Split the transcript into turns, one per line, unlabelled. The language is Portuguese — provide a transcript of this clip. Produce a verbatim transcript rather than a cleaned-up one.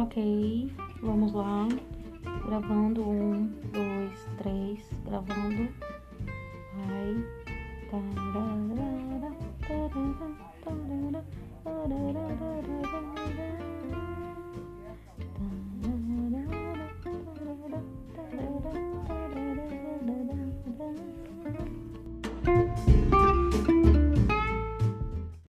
Ok, vamos lá. Gravando. Um, dois, três. Gravando. Vai. Tararara, tararara.